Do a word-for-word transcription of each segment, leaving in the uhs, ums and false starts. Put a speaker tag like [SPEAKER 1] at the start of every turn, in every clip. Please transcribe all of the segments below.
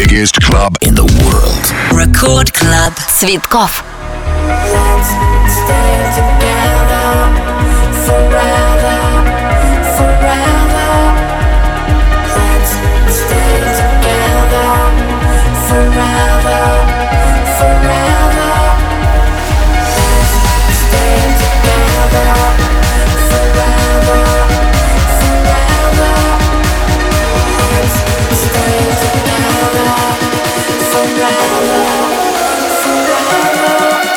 [SPEAKER 1] biggest club in the world.
[SPEAKER 2] Record Club. Цветков.
[SPEAKER 3] Let's stay together forever, forever. Let's stay together forever, forever. Let's stay together forever, forever. Let's stay together forever, forever.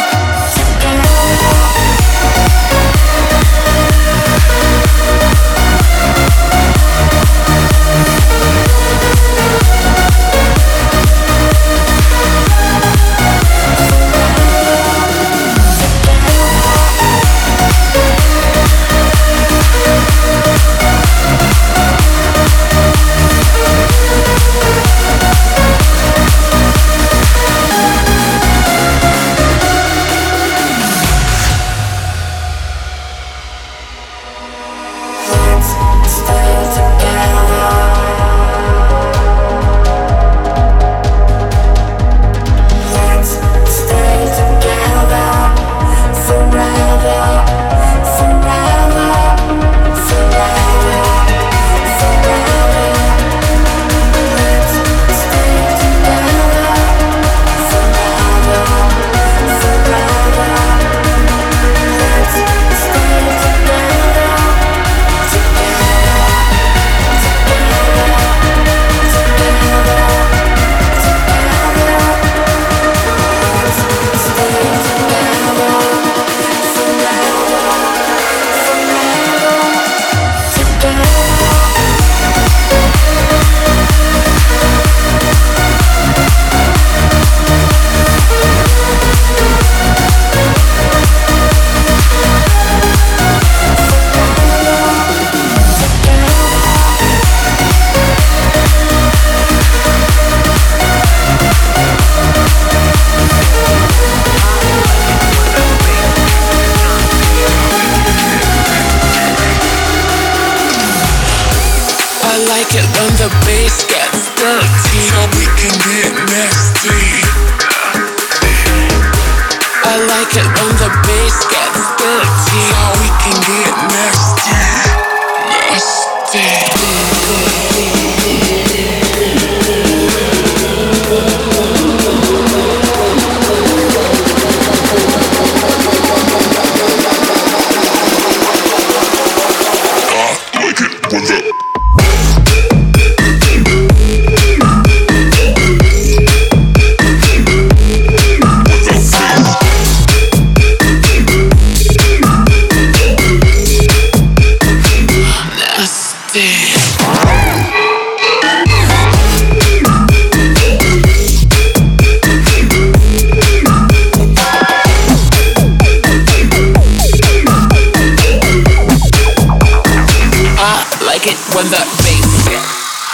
[SPEAKER 4] When the bass hits.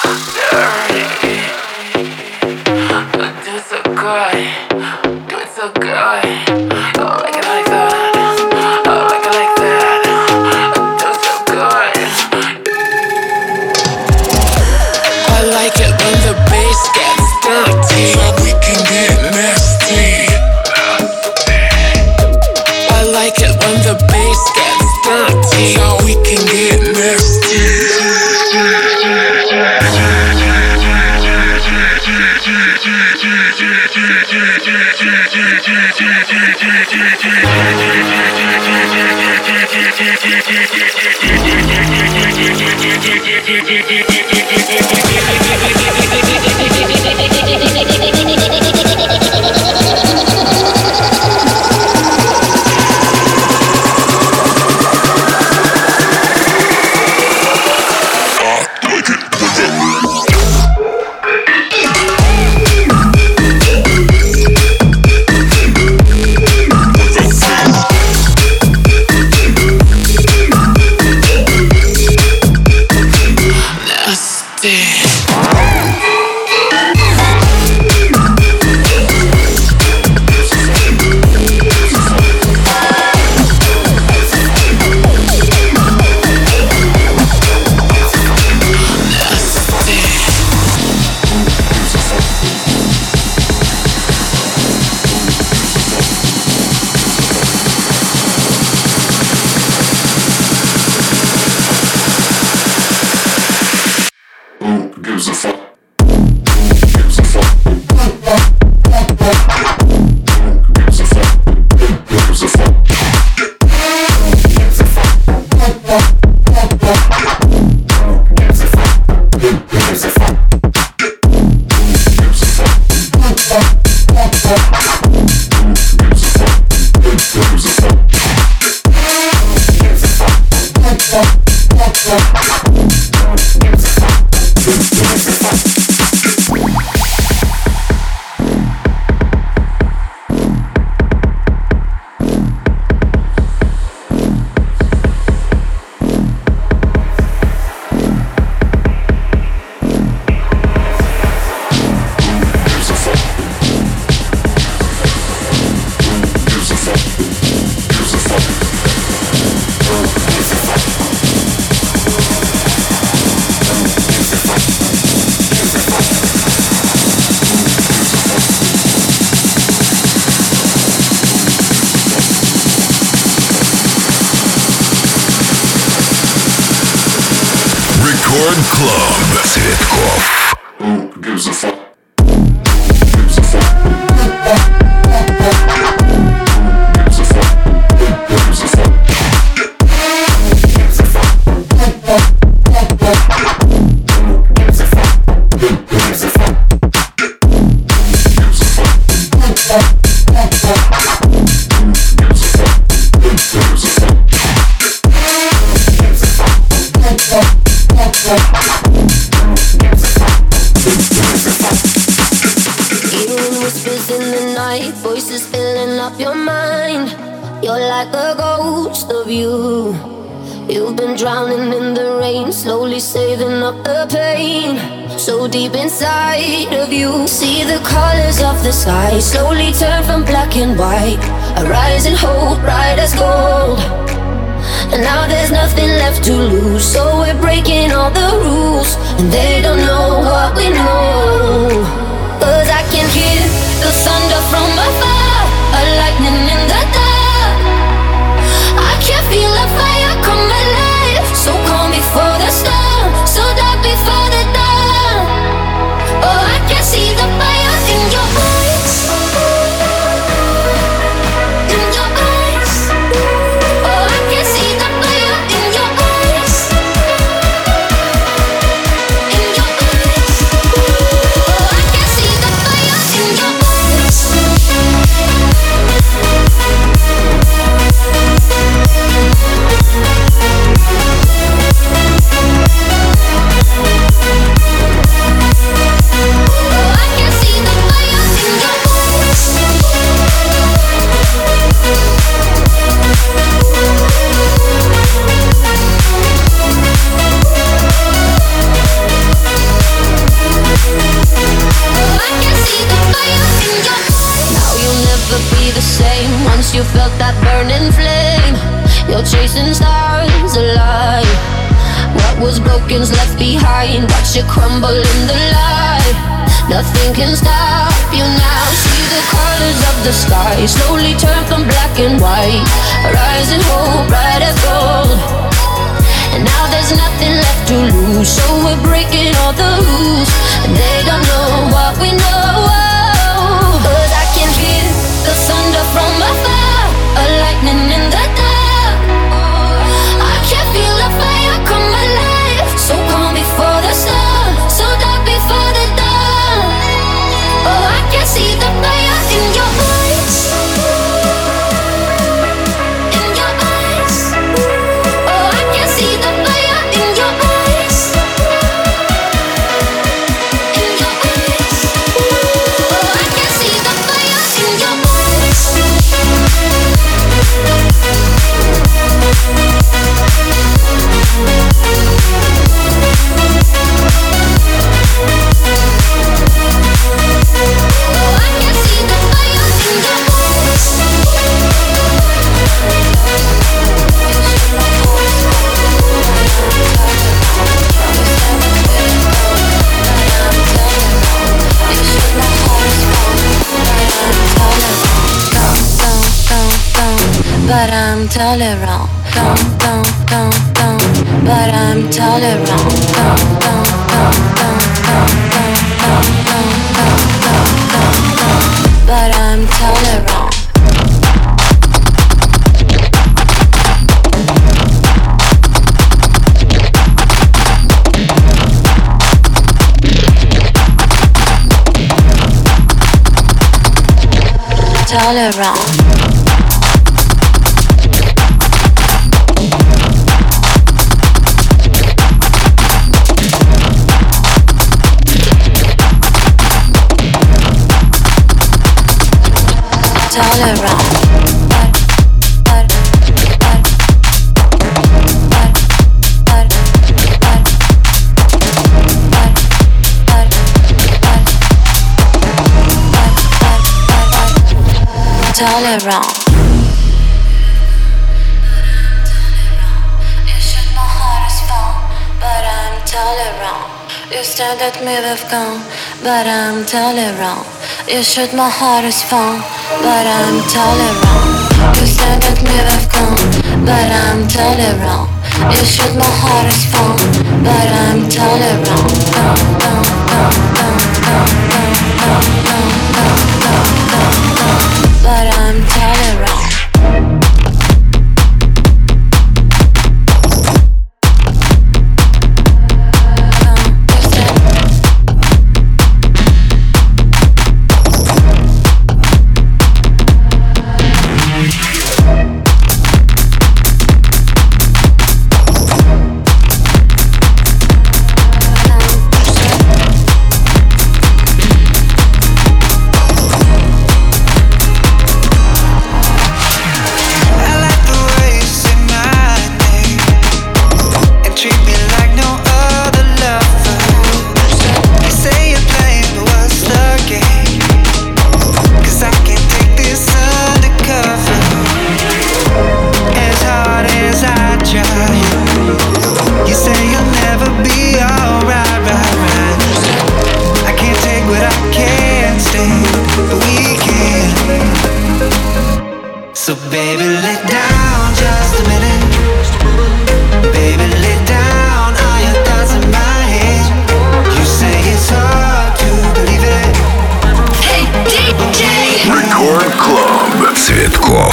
[SPEAKER 4] Do it so good, do it so good. I like it like that, I like it like that. Do it so good. I like it when the bass gets dirty, so we can get nasty. I like it when the bass gets dirty, so we can get nasty.
[SPEAKER 1] Record Club. Цветков.
[SPEAKER 5] Who gives a fuck?
[SPEAKER 3] Hearing whispers in the night, voices filling up your mind. You're like a ghost of you. You've been drowning in the rain, slowly saving up the pain. So deep inside of you, see the colors of the sky slowly turn from black and white. A rising hope, bright as gold. And now there's nothing left to lose, so we're breaking all the rules. And they don't know what we know. Cause I can hear the thunder from afar, a lightning in the dark. I can feel a fire come alive, so calm before the storm, so dark before the dawn. Oh, I can see the fire in your eyes, in your eyes. Oh, I can see the fire in your eyes, in your eyes. Oh, I can see the fire in your eyes. Oh, I can see the fire in your Now you'll never be the same once you felt that burning flame. You're chasing stars alive. What was broken's left behind. Watch it crumble in the light. Nothing can stop you now. See the colors of the sky slowly turn from black and white. A rising hope, bright as gold. And now there's nothing left to lose, so we're breaking all the rules. And they don't know what we know. Cause I can hear the thunder from afar, a lightning in the dark. I can feel a fire come alive, so calm before the storm, so dark before the dawn. Oh, I can see the fire in your eyes, in your eyes. Oh, I can see the fire in your eyes, in your eyes. Oh, I can see the fire in your eyes. Oh, I can see the fire in your eyes.
[SPEAKER 6] But I'm tolerant. Don't, don't, don't, don't. But I'm tolerant. Don't, don't, don't, don't. Tolerant. Tolerant. Tolerant. You shoot my heart as phone, but I'm tolerant. You stared at me with gun, but I'm tolerant. You shoot my heart as phone, but I'm tolerant. You stared at me with gun, but I'm tolerant. You shoot my heart as phone, but I'm tolerant. But I'm tolerant.
[SPEAKER 5] So baby, lay down just a minute. Baby, lay down all your thoughts in my head. You say it's hard to believe it.
[SPEAKER 2] Hey, ди джей!
[SPEAKER 1] Record Club. Цветков.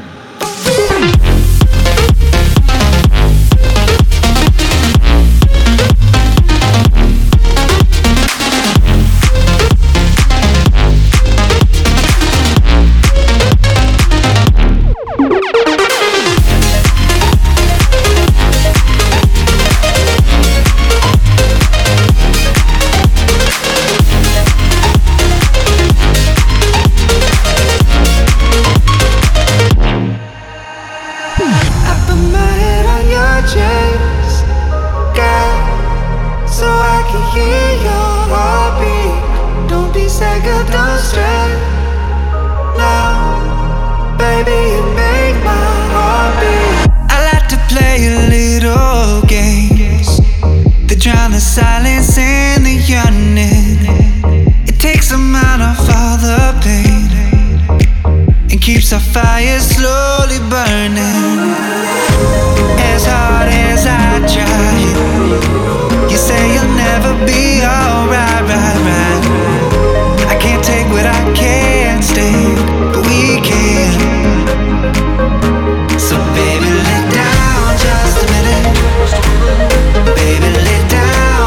[SPEAKER 5] Silence and the yearning, it takes them out of all the pain and keeps our fire slowly burning. As hard as I try, you say you'll never be alright, right, right. I can't take what I can't stand, but we can. So baby, lay down just a minute. Baby, lay down.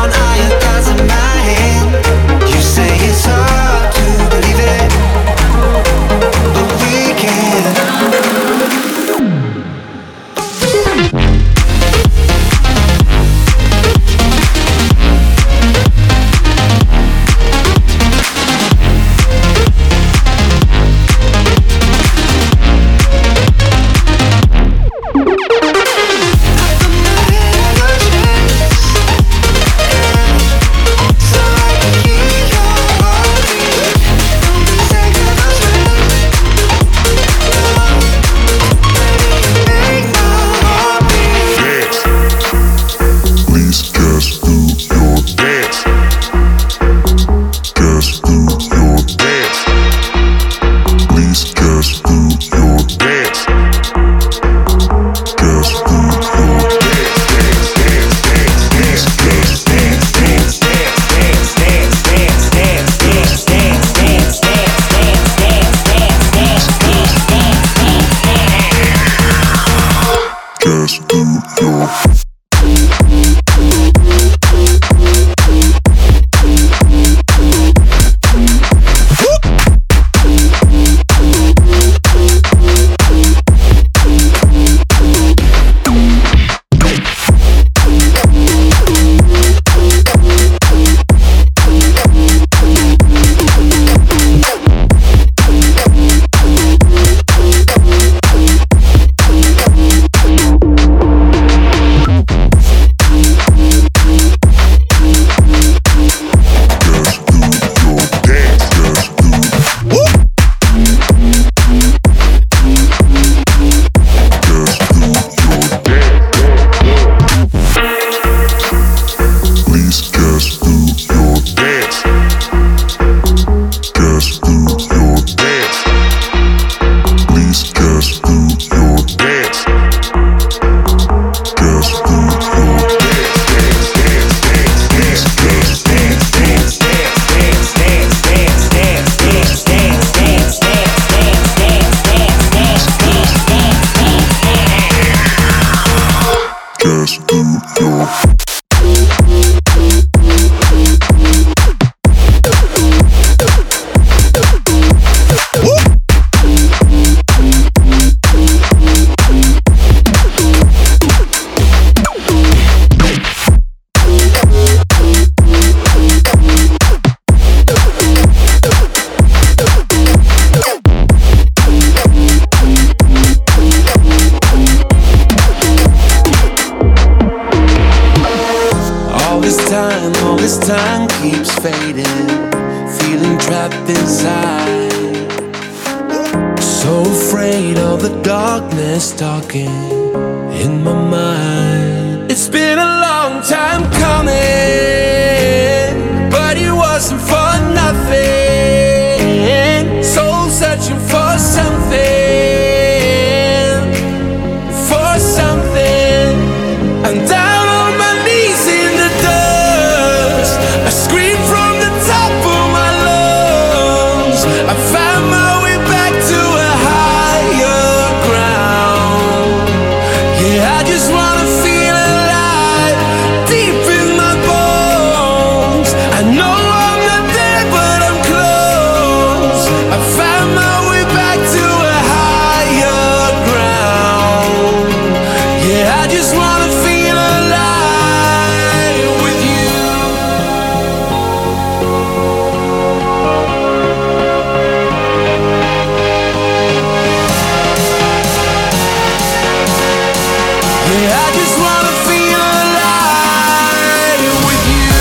[SPEAKER 5] It's hard to believe it, but we can.
[SPEAKER 7] keeps fading, feeling trapped inside. So afraid of the darkness talking in my mind. It's been a long time coming, but it wasn't for nothing. Soul searching for something, for something. I'm down on my knees in the dust. I scream from the top of my lungs. I found my way back to a higher ground. Yeah, I just wanna feel alive, deep in my bones. I know I'm not there, but I'm close. I found my way back to a higher ground. Yeah, I just wanna feel alive with you. Yeah, I just wanna feel alive with you.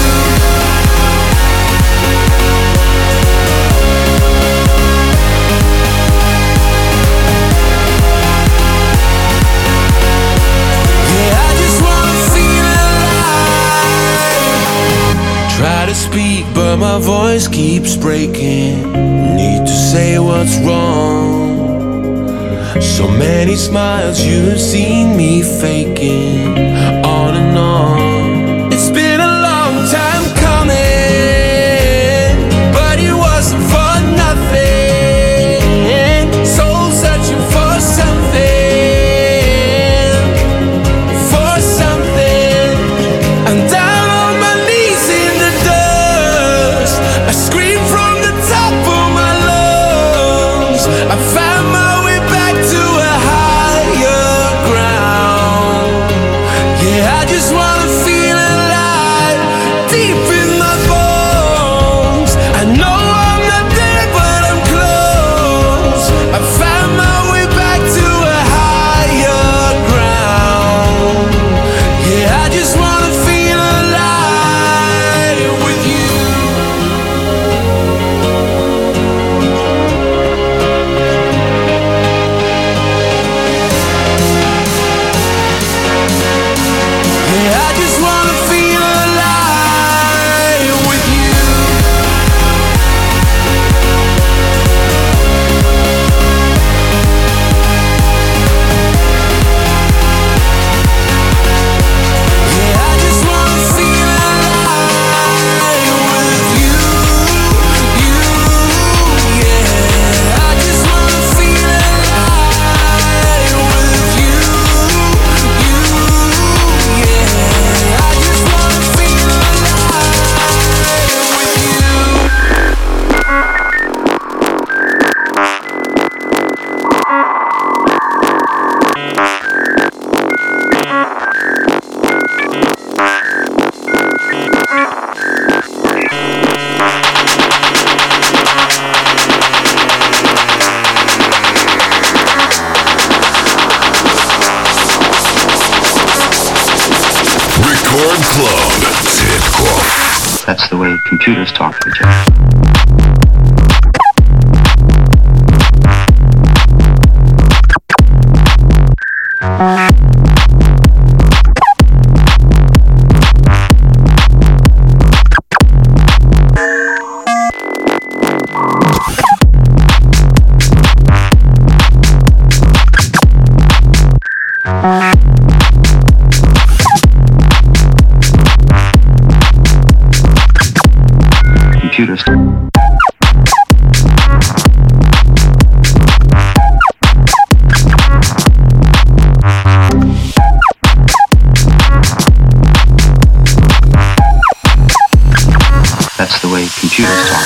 [SPEAKER 7] Yeah, I just wanna feel alive. Try to speak, but my voice keeps breaking. Need to say what's wrong. So many smiles you've seen me faking, on and on. It's been a long time coming, but it wasn't for nothing. Soul searching for something, for something. I'm down on my knees in the dust. I scream from the top of my lungs. I found my way back to a higher ground. Yeah, I just wanna feel alive, deep in my bones. I know I'm not there, but I'm close. I found my way back to a higher ground. Yeah, I just wanna feel alive with you. Yeah, I just wanna feel alive with you. Yeah, I just wanna feel alive with you, you. Yeah, I just wanna feel alive with you, you. Yeah, I just wanna feel alive with you.
[SPEAKER 1] Record Club. Цветков.
[SPEAKER 8] That's the way computers talk to each other. Computers. That's the way computers talk.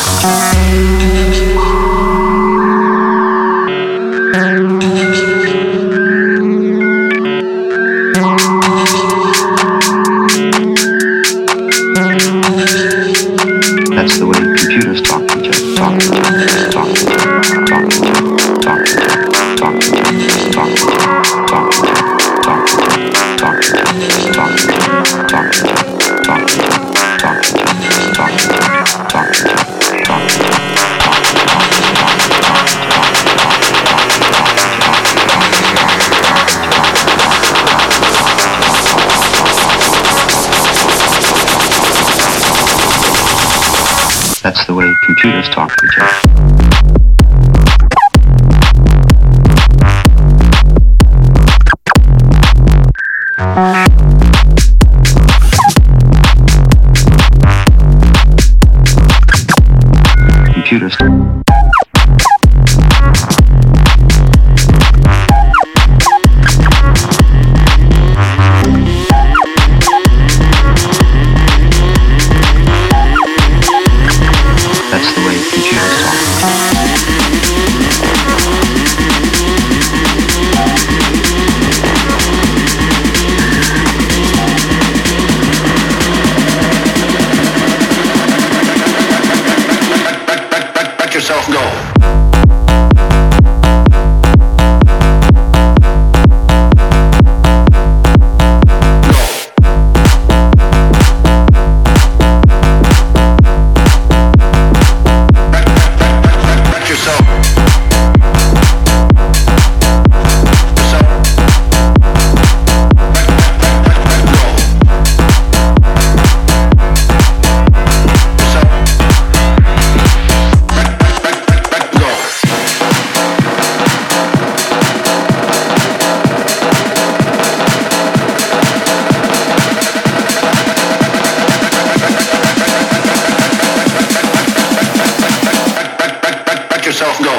[SPEAKER 8] That's the way computers talk to each other. Talk to each other. Talk to each other. Talk to each other. Talk to each other. Talk to each other. Talk to each other. Talk to each other. Talk to each other. Talk to each other. Talk to each other. Talk to each other. Talk to each other. Talk to each other. Talk to each other. That's the way computers talk to each other. Computers. That's the way computers talk.
[SPEAKER 1] Let yourself go. Yourself go.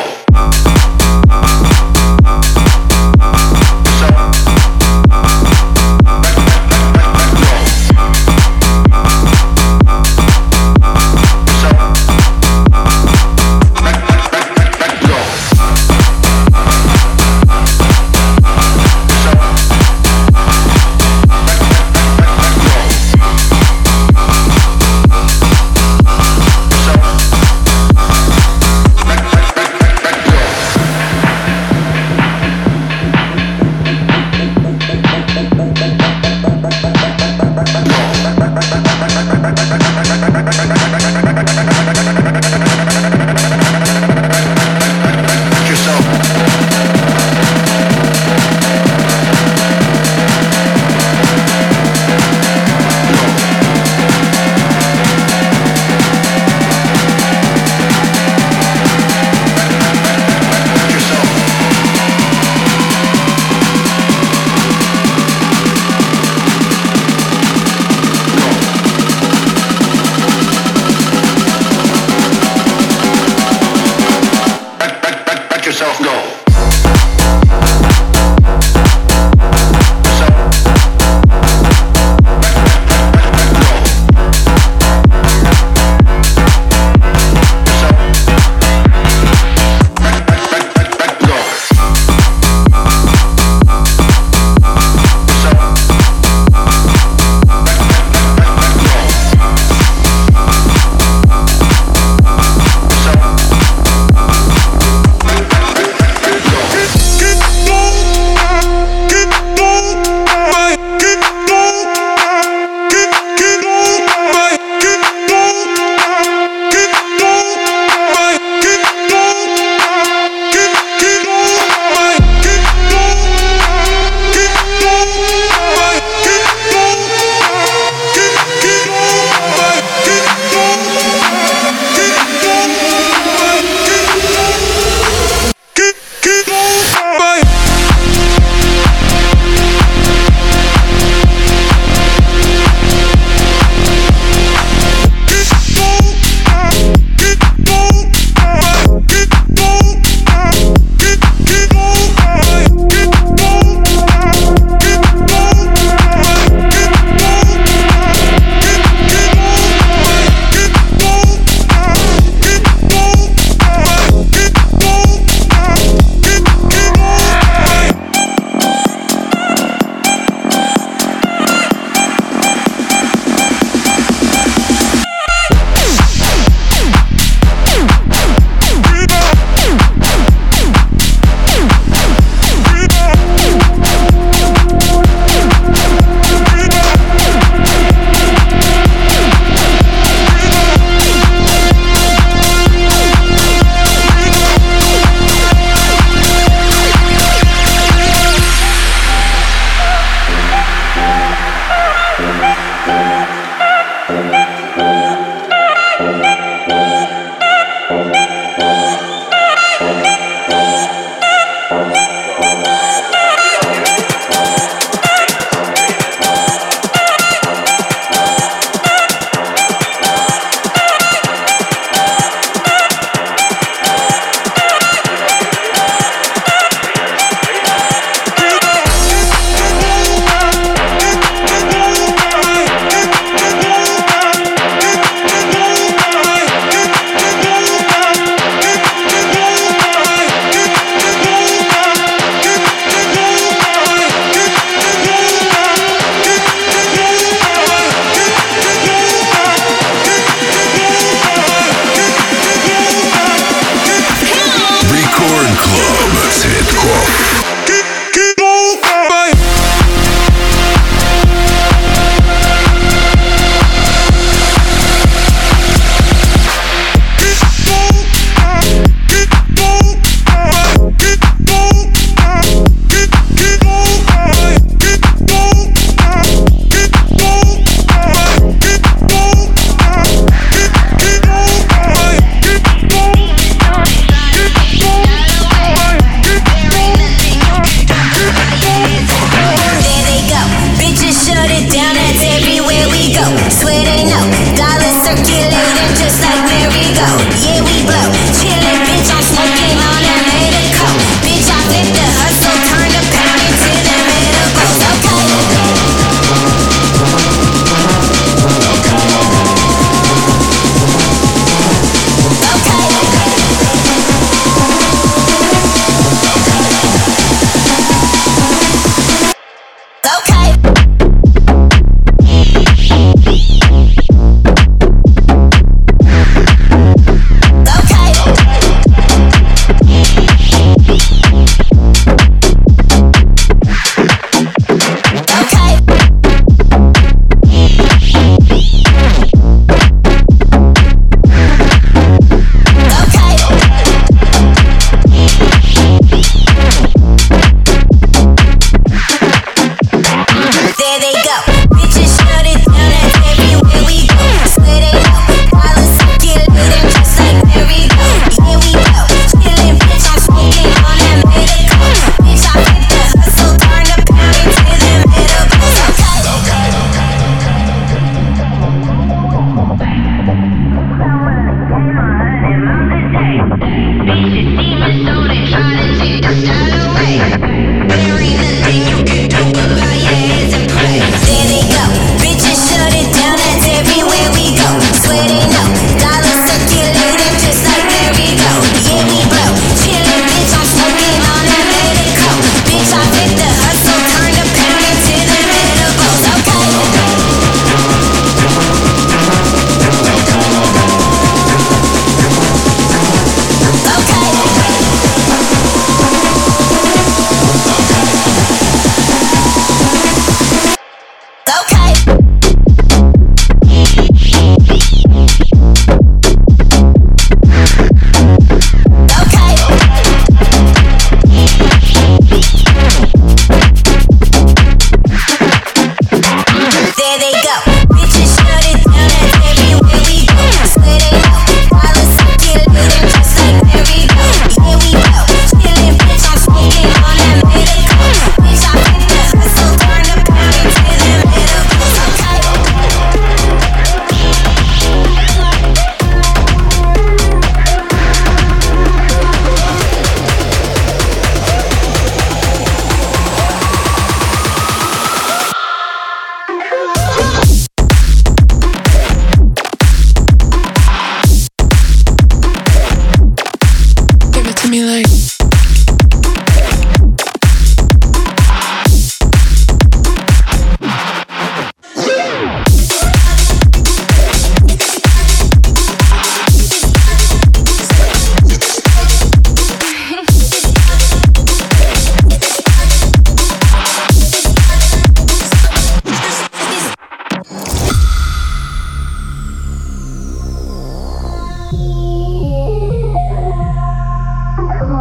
[SPEAKER 1] Yourself go.
[SPEAKER 7] Bye.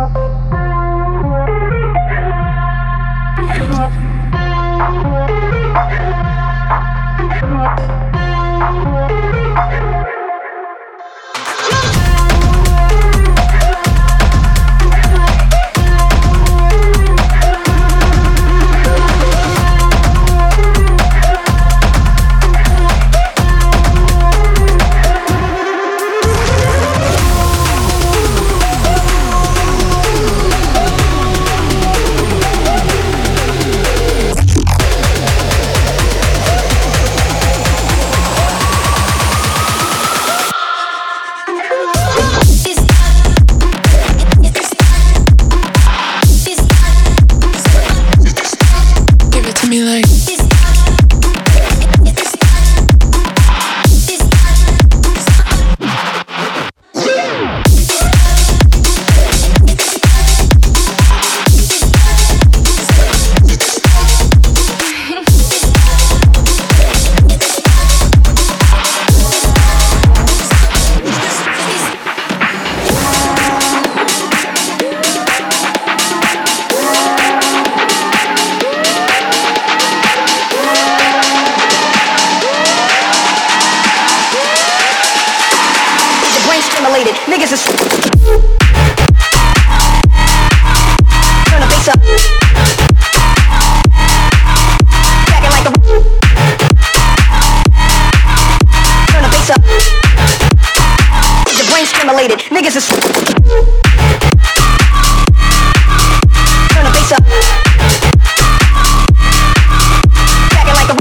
[SPEAKER 9] Niggas is turn the bass up. Cracking like a turn the bass up. Your brain stimulated. Niggas is turn the bass up. Cracking like a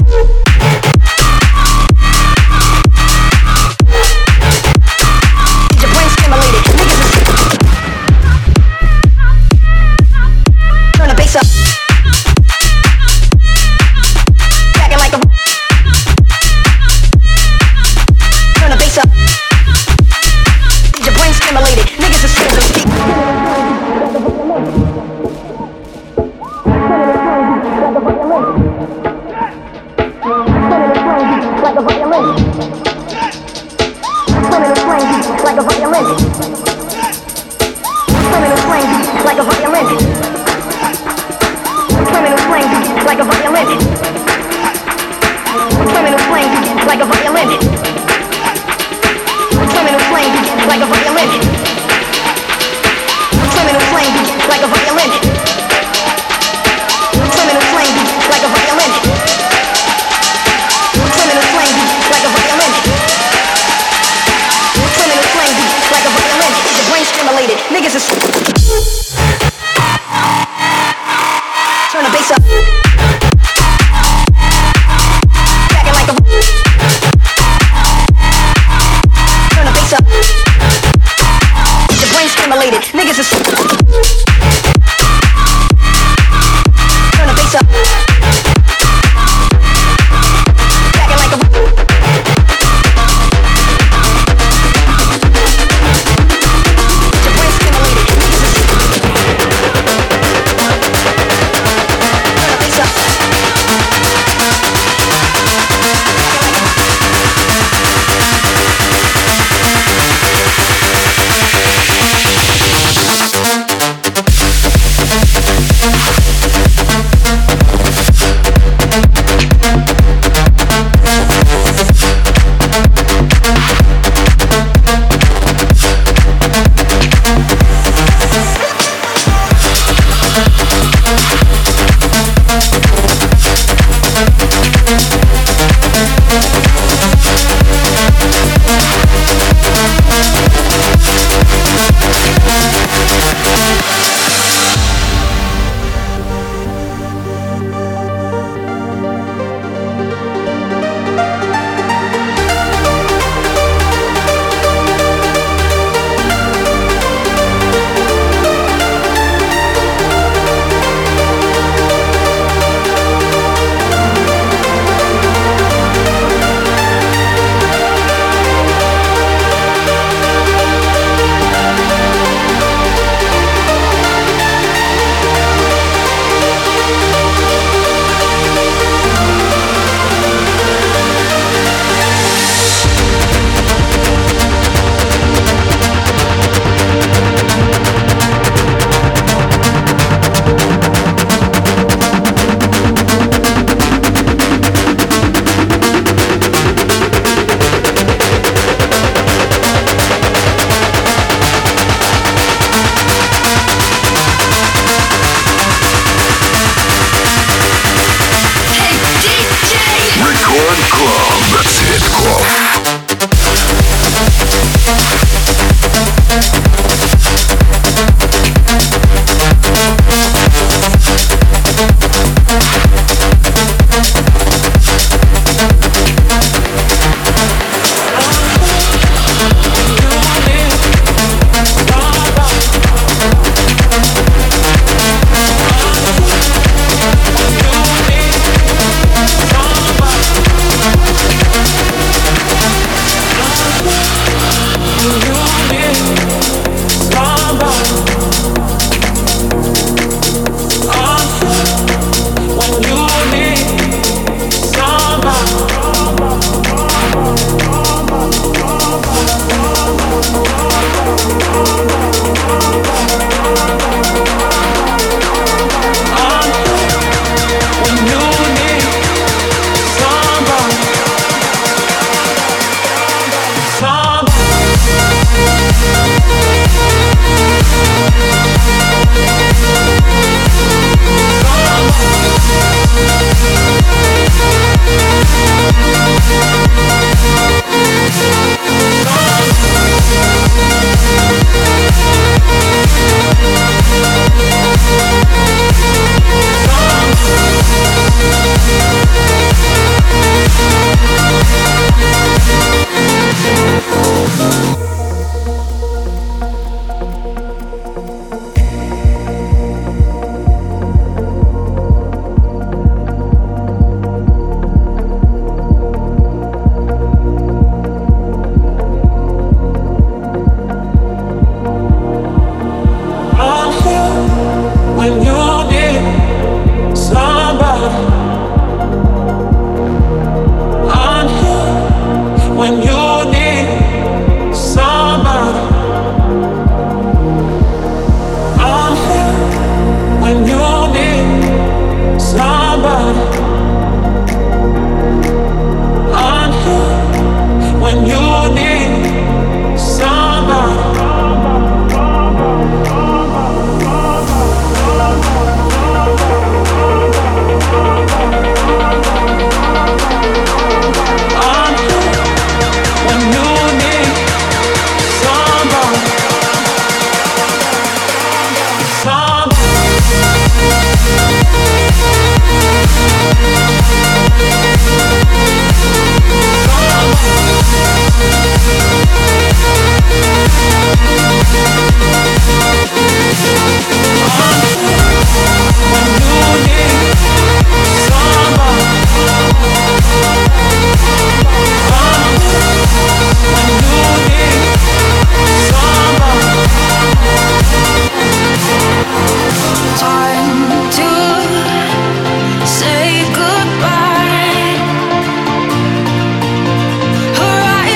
[SPEAKER 3] Say goodbye. Her eyes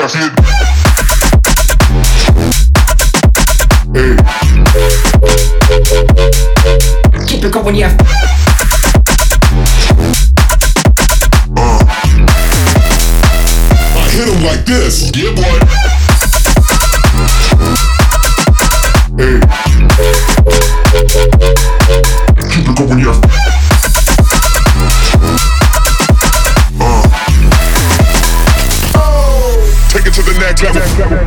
[SPEAKER 10] That's it. Hey.
[SPEAKER 11] Keep it going, yeah.
[SPEAKER 10] Uh. I hit him like this. Yeah, boy. Hey. Keep it going, yeah. Uh. Take it to the next level.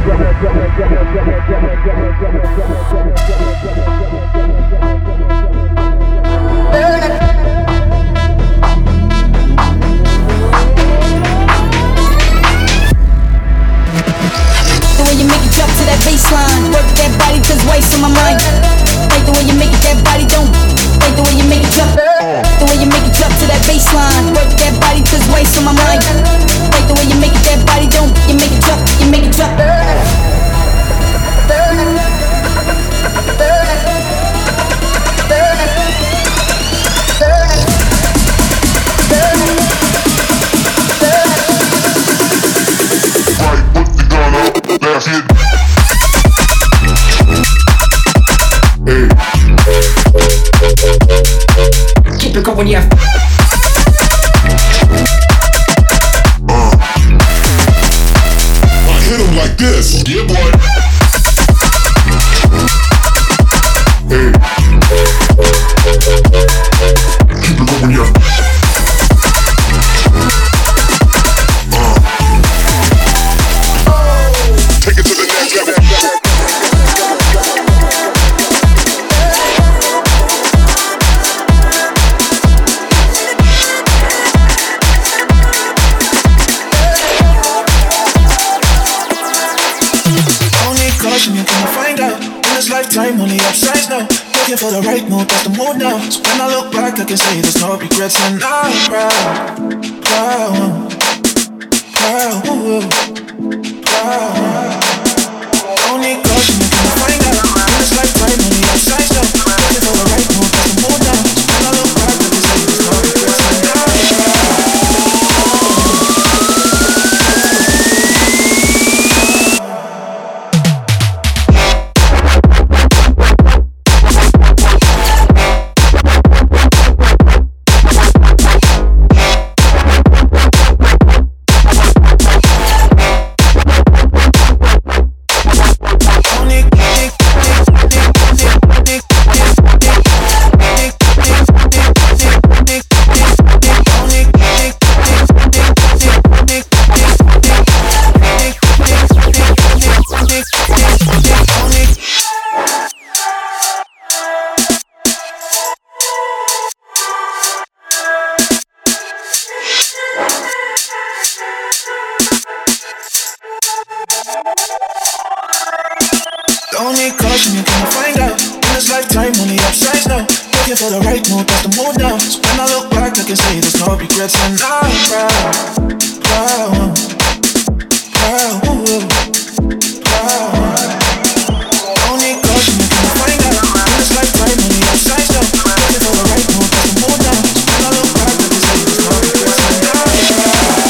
[SPEAKER 12] The way you make it drop to that baseline, work that body, cause waste on my mind. Like the way you make it, that body don't. Like the way you make it drop. The way you make it drop to that baseline, work that body, cause waste on my mind. Like the way you make it, that body don't. You make it drop, you make it drop.
[SPEAKER 10] Right, put the gun up. That's it. Hey.
[SPEAKER 11] Keep it going, yeah.
[SPEAKER 10] Uh. I hit him like this. Yeah, boy. Hey. Keep it going, yeah. Uh. Take it to the next level.
[SPEAKER 13] You're gonna find out in this lifetime, only upsides now. Looking for the right mood, that's the mood now. So when I look back, I can say there's no regrets, and I'm proud, proud, proud, proud. Don't need caution, you're gonna find out in this lifetime, only upsides now. Looking for the right mood, that's the mood now. So when I look back, I can say there's no regrets, and I'm proud. Don't need caution, you're gonna find out in this lifetime, only upsides now. Looking for the right mood, that's the mood now. So when I look back, I can say there's no regrets, and I'm proud, proud, proud, proud. Don't need caution, you're gonna find out in this lifetime, only upsides now. Looking for the right mood, that's the mood now. So when I look back, I can say there's no regrets, and I'm proud.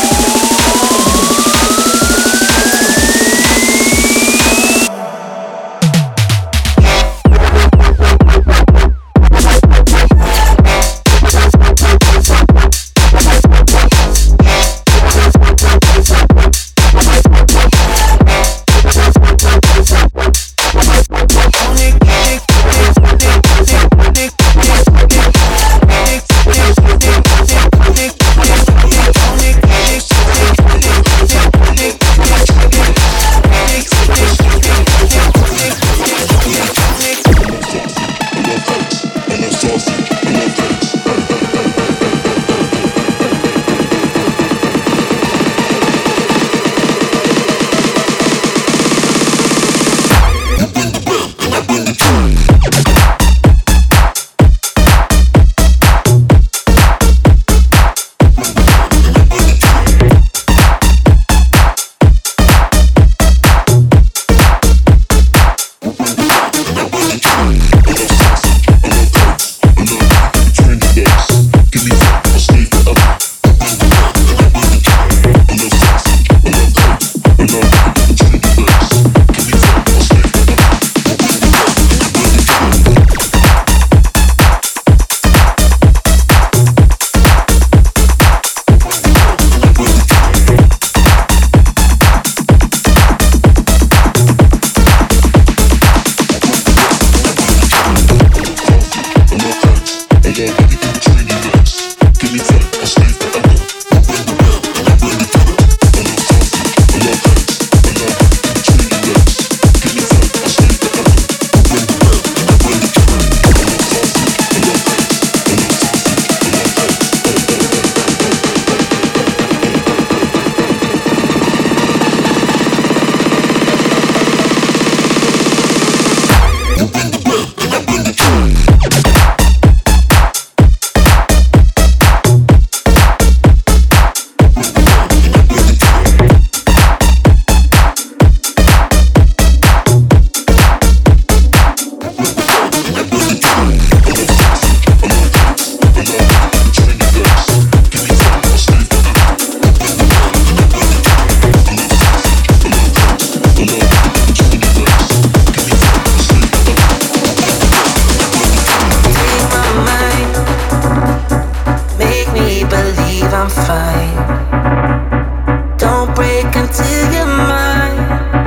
[SPEAKER 14] break into your mind.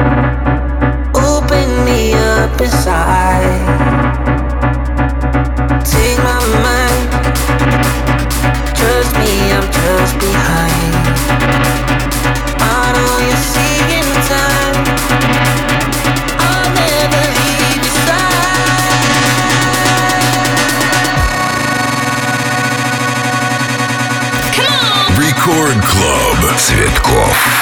[SPEAKER 14] Open me up inside. Take my mind. Trust me, I'm just behind. I know you're seeing time. I'll never leave your side.
[SPEAKER 15] Record Club Цветков.